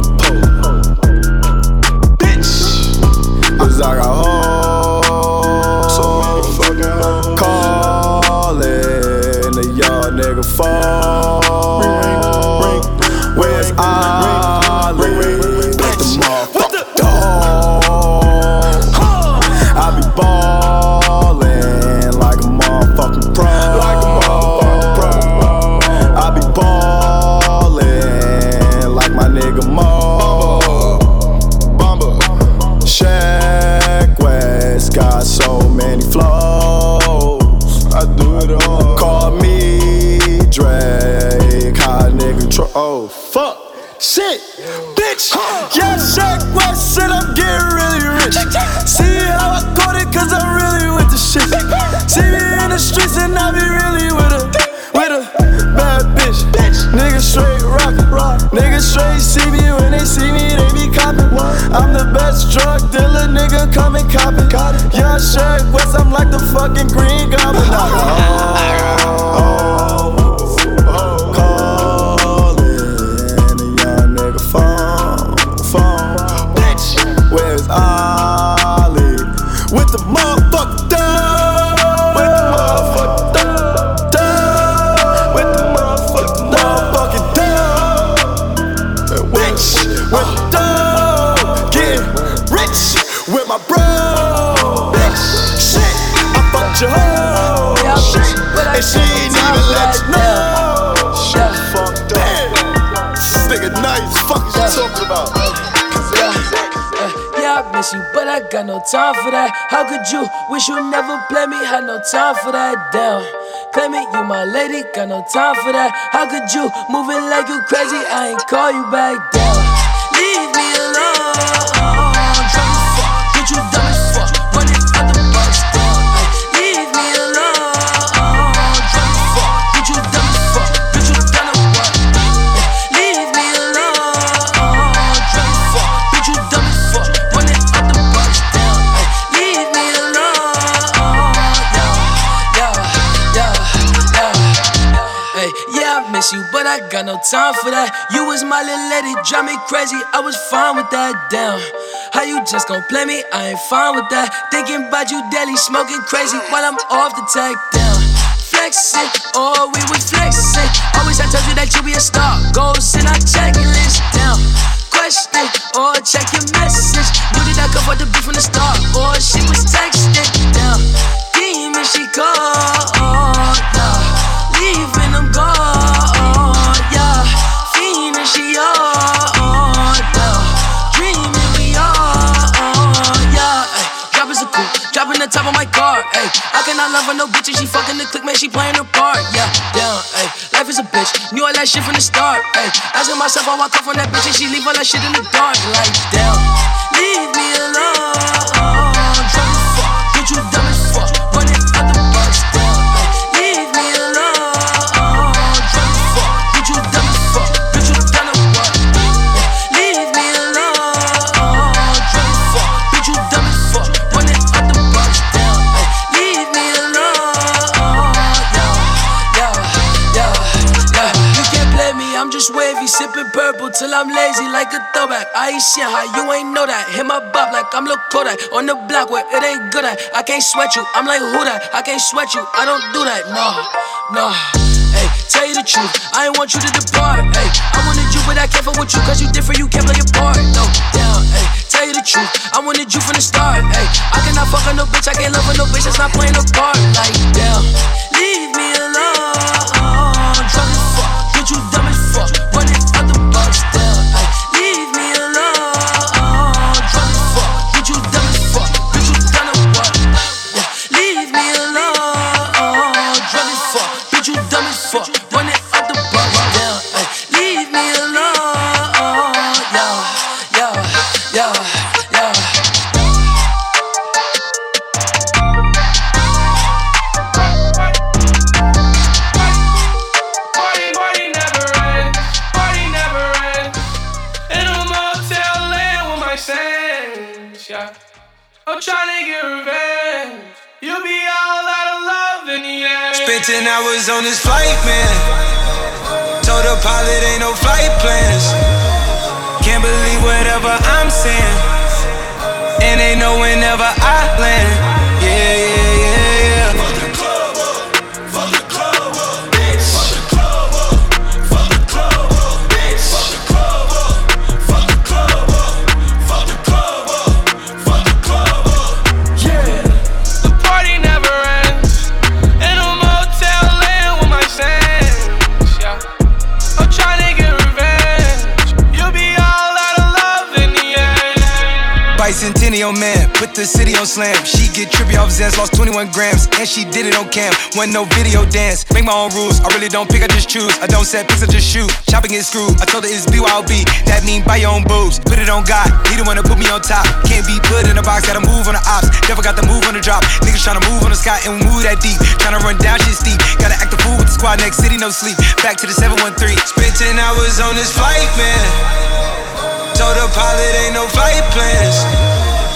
Bitch, 'cause I got hoes so motherfucking hoes. shirt wet, I'm like the fucking Green Goblin. Oh, oh, calling a young nigga phone, phone. Bitch, where's Ollie? With the motherfucker down, with the motherfucker down, down, with the motherfucker motherfucking down. Bitch, with the down, getting rich with my bro. Bitch, shit, I fucked your hoe, and she ain't even let you know. Shit, fucked up. This nigga nice, fuck is you talking about? I miss you, but I got no time for that. How could you wish you never play me? Had no time for that. Damn, claim it, you my lady, got no time for that. How could you moving like you crazy? I ain't call you back down. Leave me alone. Try to fuck, get you dumb as fuck. Running out the box down. Leave me alone. Try to fuck, get you dumb as fuck. Bitch, you done what? Leave me alone. Try to fuck, bitch, you dumb as fuck. You, but I got no time for that. You was my little lady, drive me crazy. I was fine with that. Damn, how you just gon' play me? I ain't fine with that. Thinking about you daily, smoking crazy while I'm off the tag. Down, flexing, oh we was flexing. Always I told you that you be a star. Goals in our checklist. Down, question or check your message. Knew that I could afford the beat from the start, or she was texting. Down, demon she called. Nah, leaving them gone. She on, down, dreaming we on, yeah. Ay, drop is a coupe, dropping the top of my car. Ay, I cannot love her, no bitch, and she fucking the click, man, she playing her part. Yeah, down, ay, life is a bitch, knew all that shit from the start. Ay, asking myself how I come from that bitch, and she leave all that shit in the dark. Like, down, leave me alone. Try to fuck, get you dumb as fuck, running out the box. Down, ay, leave me alone. Try to fuck, get you dumb as fuck. Wavy, sipping purple till I'm lazy like a throwback. I ain't shit, how you ain't know that? Hit my bop like I'm Lil Kodak on the block where it ain't good at. I can't sweat you, I'm like who that? I can't sweat you, I don't do that. No, no. Hey, tell you the truth, I ain't want you to depart. Hey, I wanted you, but I can't fuck with you, cause you different, you can't play your part. No, down. Hey, tell you the truth, I wanted you from the start. Hey, I cannot fuck on no bitch, I can't love on no bitch that's not playing a part. Like, damn, leave me alone. Try to fuck, get you dumb as fuck, running out the box down. Ay, leave me alone. Try to fuck, get you dumb as fuck, bitch you done what? Yeah, leave me alone. Try to fuck, bitch you dumb as fuck, running out the box down. Ay, leave me alone. Yeah, yeah, yeah, yeah. I'm tryna get revenge. You'll be all out of love in the end. Spent ten hours on this flight, man. Told the pilot ain't no flight plans. Can't believe whatever I'm saying. And they know whenever I land. Yeah, yeah, yeah, yeah. Fuck the club up, fuck the club up, bitch. Fuck the club up, fuck the club up, bitch. Fuck the club up, fuck the club up, fuck the club up, fuck the club up. Yeah, the party never ends. In a motel laying with my sands. Yeah, I'm tryna get revenge. You'll be all out of love in the end. Bicentennial man, put the city on slam. She get trippy off Zans, lost twenty-one grams, and she did it on cam. Wasn't no video dance, make my own rules. I really don't pick, I just choose. I don't set picks, I just shoot. Chopping get screwed. I told her it's B Y O B. That mean buy your own boobs. Put it on God, he the one to put me on top. Can't be put in a box, gotta move on the ops. Never got the move on the drop. Niggas tryna move on the sky and we move that deep. Tryna run down shit steep. Gotta act the fool with the squad, next city, no sleep. Back to the seven one three. Spent ten hours on this flight, man. Told the pilot ain't no flight plans.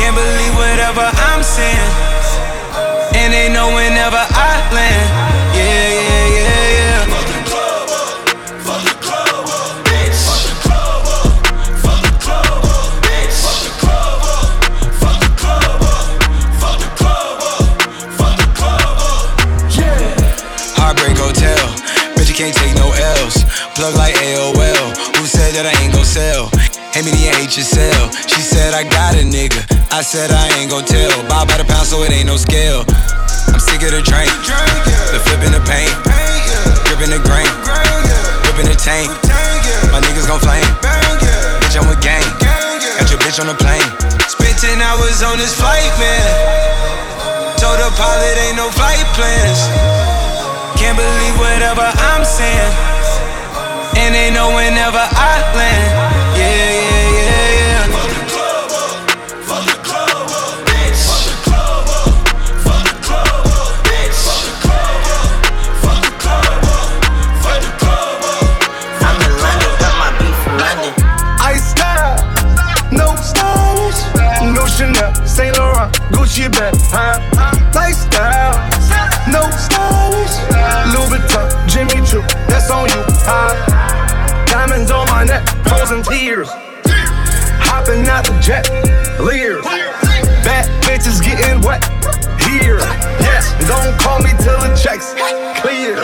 Can't believe whatever I'm saying. And they know whenever I land. Yeah, yeah, yeah, yeah. Fuck the club up, fuck the club up, bitch. Fuck the club up, fuck the club up, bitch. Fuck the club up, fuck the club up, fuck the club up, fuck the club up. Yeah. Heartbreak Hotel, bitch you can't take no L's. Plug like A O L. Who said that I ain't gon' sell? Hate me, you hate yourself. She said I got a nigga. I said I ain't gon' tell. Buy by the pound so it ain't no scale. I'm sick of the drink, the flipping the paint, gripping the grain, gripping the tank. My niggas gon' flame. Bitch, I'm with gang. Got your bitch on the plane. Spent ten hours on this flight, man. Told the pilot ain't no flight plans. Can't believe whatever I'm saying. And they know whenever I land. Yeah, yeah, yeah, yeah. Fuck the club up, fuck the club up, bitch. Fuck the club up, fuck the club up, bitch. Fuck the club up, fuck the club up, fuck the club up. I'm in London, got my beef from London. Ice style, no stylish, no Chanel, Saint Laurent, Gucci bag, huh? Lifestyle, no stylish, Louis Vuitton, Jimmy Choo, that's on you, huh? Diamonds on my neck, frozen tears. Hopping out the jet, leers. Bad bitches getting wet here. Yes, don't call me till the checks clear.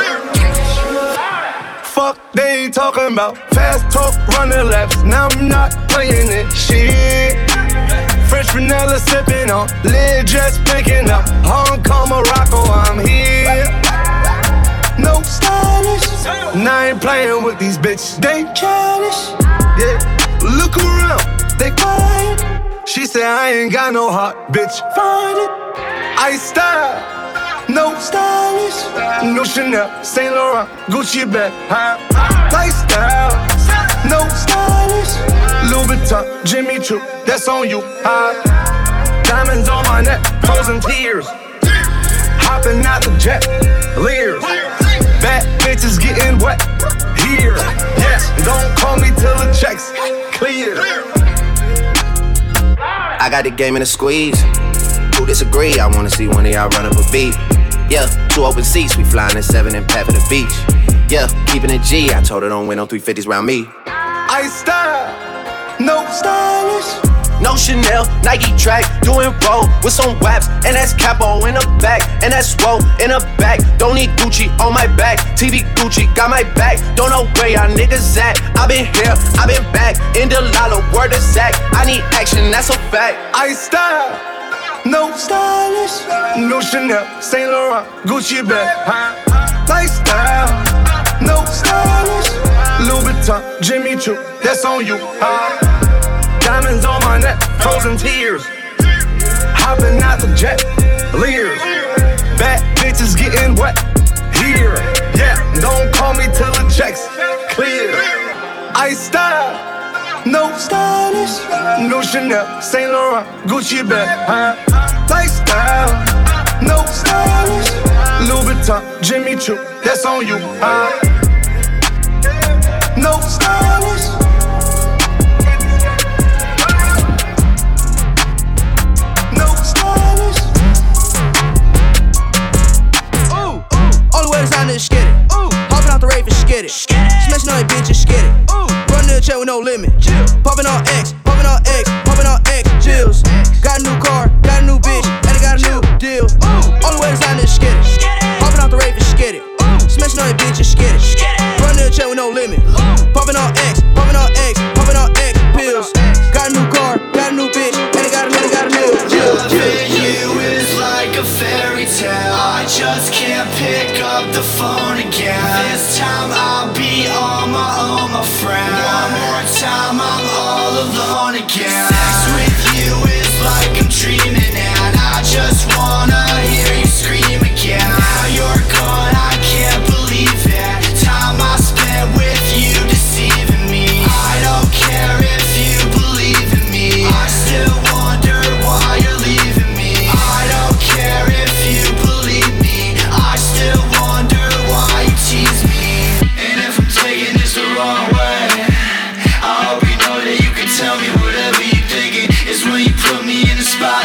Fuck, they ain't talking about fast talk, running laps. Now I'm not playing it, shit. French vanilla sipping on, lid just picking up. Hong Kong, Morocco, I'm here. No stylish, and I ain't playing with these bitches. They childish, yeah. Look around, they quiet. She said I ain't got no heart, bitch. Find it. Ice style, no stylish, no Chanel, Saint Laurent, Gucci bag, huh? Lifestyle, no stylish, Louis Vuitton, Jimmy Choo, that's on you, huh? Diamonds on my neck, frozen tears. Hopping out the jet, leers. Bad bitches getting wet here. Yes, don't call me till the checks clear. I got the game in a squeeze. Who disagree? I wanna see one of y'all run up a beat. Yeah, two open seats, we flying in seven and pat for the beach. Yeah, keeping it G. I told her don't win on three fifties round me. Ice style, no stylish. No Chanel, Nike track, doing roll with some waps, and that's capo in the back, and that's swole in the back. Don't need Gucci on my back, T V Gucci got my back. Don't know where y'all niggas at. I been here, I been back, in the lala, word of Zach. I need action, that's a fact. Ice style, no stylish, no Chanel, Saint Laurent, Gucci bag, huh? Lifestyle, no stylish, Louis Vuitton, Jimmy Choo, that's on you, huh? Diamonds on my neck, frozen tears. Hopping out the jet, leers. Bad bitches getting wet here. Yeah, don't call me till the checks clear. Ice style, no stylish, no Chanel, Saint Laurent, Gucci bag, huh? Lifestyle, no stylish, Louis Vuitton, Jimmy Choo, that's on you, huh? No stylish. Just get it. Ooh. Hopping out the rave and skid it. Smashing on that bitch and skid it. Ooh. Running the check with no limit. Chill. Popping on X, popping on X, popping on X. Chills. Got a new car, got a new bitch, and I got a new deal. Ooh. Only way to sign this skid it. Hopping out the rave and skid it. Smashing on that bitch and skid it. Running the check with no limit. Popping on X, popping on X, popping on X pills. Got a new car, got a new bitch, and I got a new, got a new deal. You is like a fairy tale. I just can't pick up the phone again. This time I'll be on my own, my friend. One more time I'm all alone again. Sex with you is like I'm dreaming, and I just wanna hear you scream again. Now you're gone, I can't believe it. Time I spent with you deceiving me. I don't care if you believe in me. I still wonder why you're leaving me. I don't care if you believe me. I still wonder why you tease me. And if I'm taking this the wrong way, I hope you know that you can tell me whatever you're thinking. It's when you put me in the spot.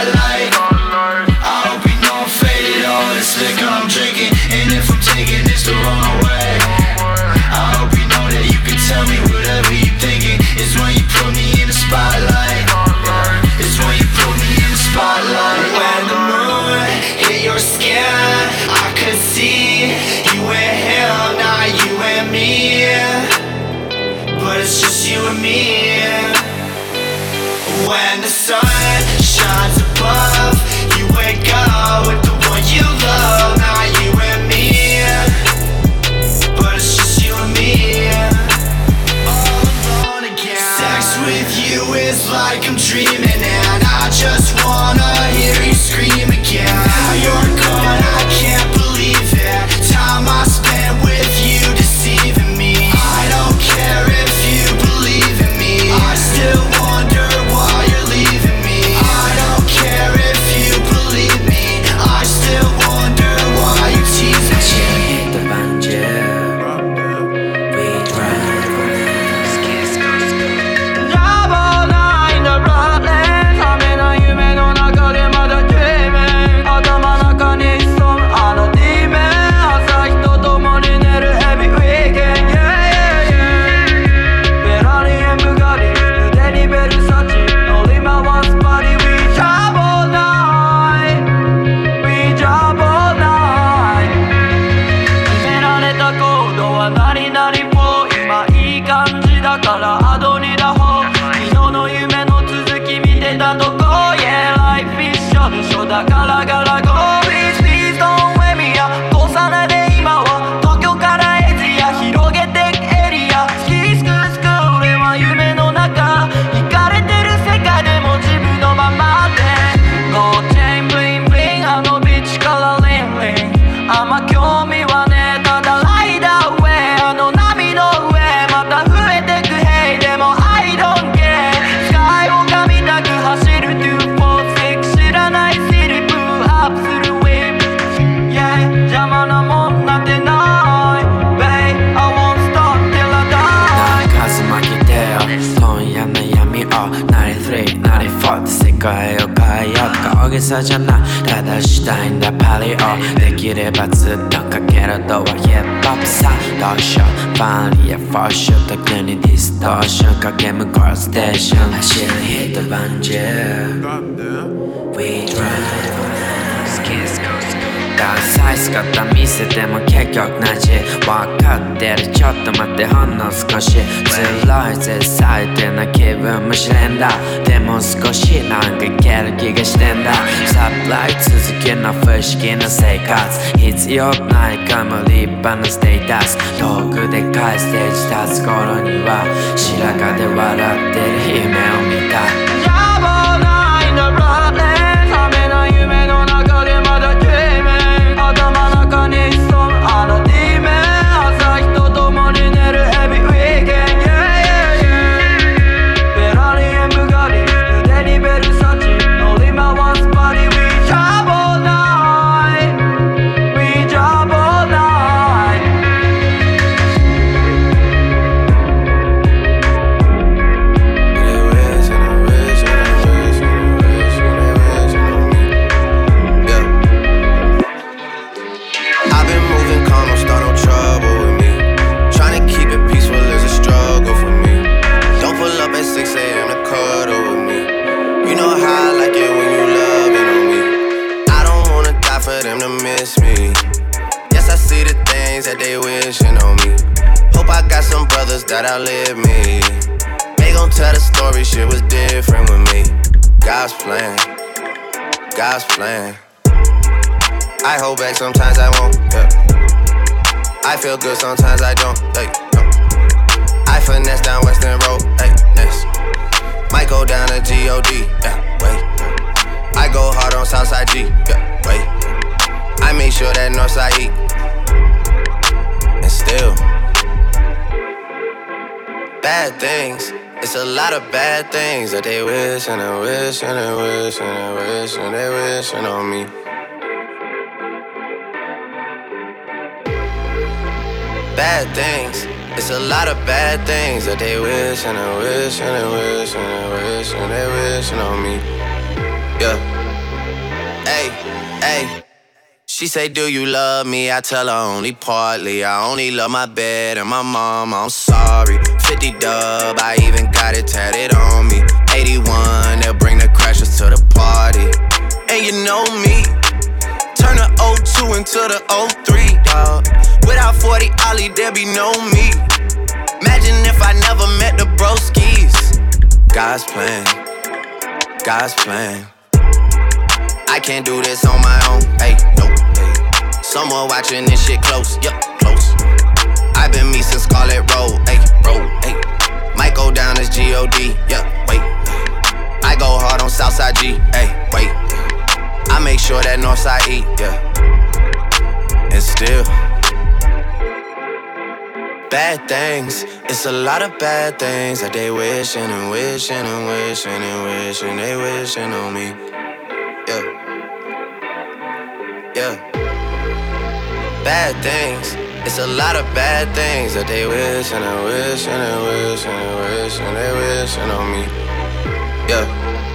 this liquor I'm drinking, and if I'm taking this the wrong way, I hope you know that you can tell me whatever you thinking. It's when you put me in the spotlight. It's when you put me in the spotlight. When the moon hit your skin, I could see you and him, not you and me. But it's just you and me. When the sun shines above, you wake up with the one you love, not you and me. But it's just you and me. All alone again. Sex with you is like I'm dreaming, and I just wanna hear you scream again. Now you're gone, I can't believe it. Time I spent with you deceiving me. I don't care if you believe in me. I still wonder why you're leaving me. I don't care if you believe me. I still wonder why you tease me. hit the banjo. We drive on this kiss goes Trouble night in the bloodlands. 冷めない夢の中でまだ dreaming。 頭の中に潜むあの demon。 朝日と共に寝る every weekend。 Yeah, yeah, yeah。 ベラリエンブガリ腕にベルサチ乗り回すバディ We trouble night We trouble night。 決められたコードは何々も今いい感じだからアドにだほ昨日の夢の続き見てたとこ Yeah life is short でしょだからガラゴー Please please don't wake me up 小雨で今は東京からエジア広げてくエリアスキースクースクー俺は夢の中行かれてる世界でも自分のままで Gold chain bling bling あのビッチからリンリンあんま興味はねえただライダーウェイあの波の上また増えてく Hey でも I don't care スカイを噛みたく走るにフォーシックス知らないシリプーアップするウィップ Yeah 邪魔なもんなんてない Babe I won't stop till I die 風巻きてよ今夜の闇をナインティスリー、ナインティフォーって世界を変えようとか大げさじゃないただしたいんだパリをできればずっとかけるドアヒップホップさどうしようファンリーやフォーシュ特にディストーションかけ向こうステーション走るヒットバンジー We drive on this kiss goesダサい姿見せても結局同じ分かってるちょっと待ってほんの少し辛いぜ最低な気分もしれんだでも少しなんかいける気がしてんだサプライ続きの不思議な生活必要ないかも立派なステータス遠くでかいステージ立つ頃には白髪で笑ってる夢を見た Trouble night in the bloodlands 冷めない夢の中でまだ dreaming 頭の中に潜むあの demon 朝日と共に寝る every weekend Yeah, yeah, yeah ベラリエンブガリ腕にベルサチ乗り回すバディ We trouble night We trouble night I've been moving calm, don't start no trouble with me. Tryna keep it peaceful is a struggle for me. Don't pull up at six a.m. to cuddle with me. You know how I like it when you loving on me. I don't wanna die for them to miss me. Yes, I see the things that they wishing on me. Hope I got some brothers that outlive me. They gon' tell the story, shit was different with me. God's plan, God's plan. I hold back, sometimes I won't, yeah. I feel good, sometimes I don't, hey, no. I finesse down Western Road, hey, next. Might go down to G O D, yeah, wait. I go hard on Southside G, yeah, wait. I make sure that Northside eat. And still bad things, it's a lot of bad things that they wish and they wish and they wish and they wish and they wishing on me. Bad things, it's a lot of bad things that they wish and they wish and they wish and they wish and they wishing on me. Yeah. Hey, hey. She say, do you love me? I tell her only partly. I only love my bed and my mom, I'm sorry. fifty dub, I even got it tatted on me. eighty-one, they'll bring the crashers to the party. And you know me, turn the oh two into the oh three, dawg. Without forty Ollie, there be no me. Imagine if I never met the broskies. God's plan, God's plan. I can't do this on my own, hey, no, hey. Someone watching this shit close, yup, close. I've been me since Scarlet Road, hey, road, hey. Might go down as G O D, yup, wait. I go hard on Southside G, hey, wait. I make sure that Northside eat, yeah. And still, bad things, it's a lot of bad things that they wishing and wishing and wishing and wishing they wishing on me, yeah. Yeah, bad things. It's a lot of bad things that they wish and they wish and they wish and they wish and they wishing on me. Yeah.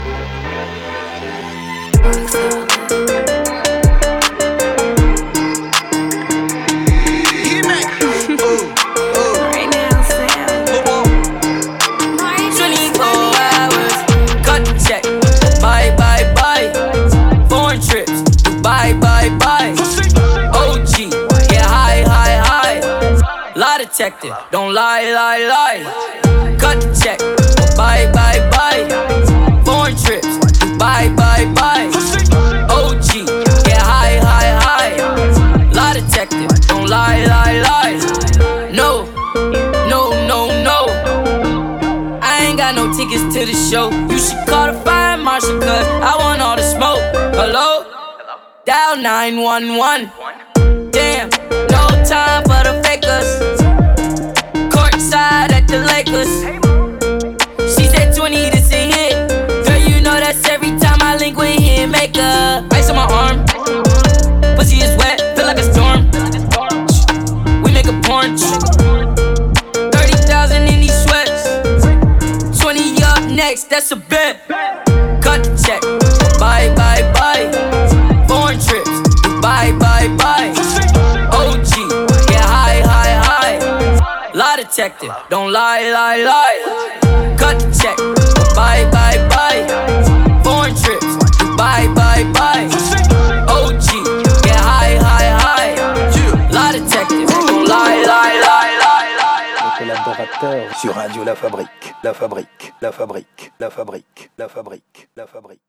Right now, Sam. twenty-four hours, cut the check. Bye, bye, bye. Foreign trips. Bye, bye, bye. O G, get high, high, high. Lie detector, don't lie, lie, lie. Cut the check, bye, bye, bye. Foreign trips, bye, bye, bye. O G, get high, high, high. Lie detector, don't lie, lie, lie. No, no, no, no. I ain't got no tickets to the show. You should call the fire marshal, cause I want all the smoke. Hello? Dial nine one one. Damn, no time for the fakers. Courtside at the Lakers. She said twenty, this a hit. Girl, you know that's every time I link with him. Make a ice on my arm. Pussy is wet, feel like a storm. We make a porn. thirty thousand in these sweats. twenty up next, that's a bet. Cut the check. Bye, bye, bye. Foreign trips, bye, bye, bye. O G, get high, high, high. Lie detector, don't lie, lie, lie. Cut the check, bye, bye, bye. Foreign trips, bye, bye, bye. O G, get high, high, high. Lie detector, don't lie, lie, lie, lie, lie. Collaborateur sur Radio La Fabrique, La Fabrique, La Fabrique, La Fabrique, La Fabrique, La Fabrique.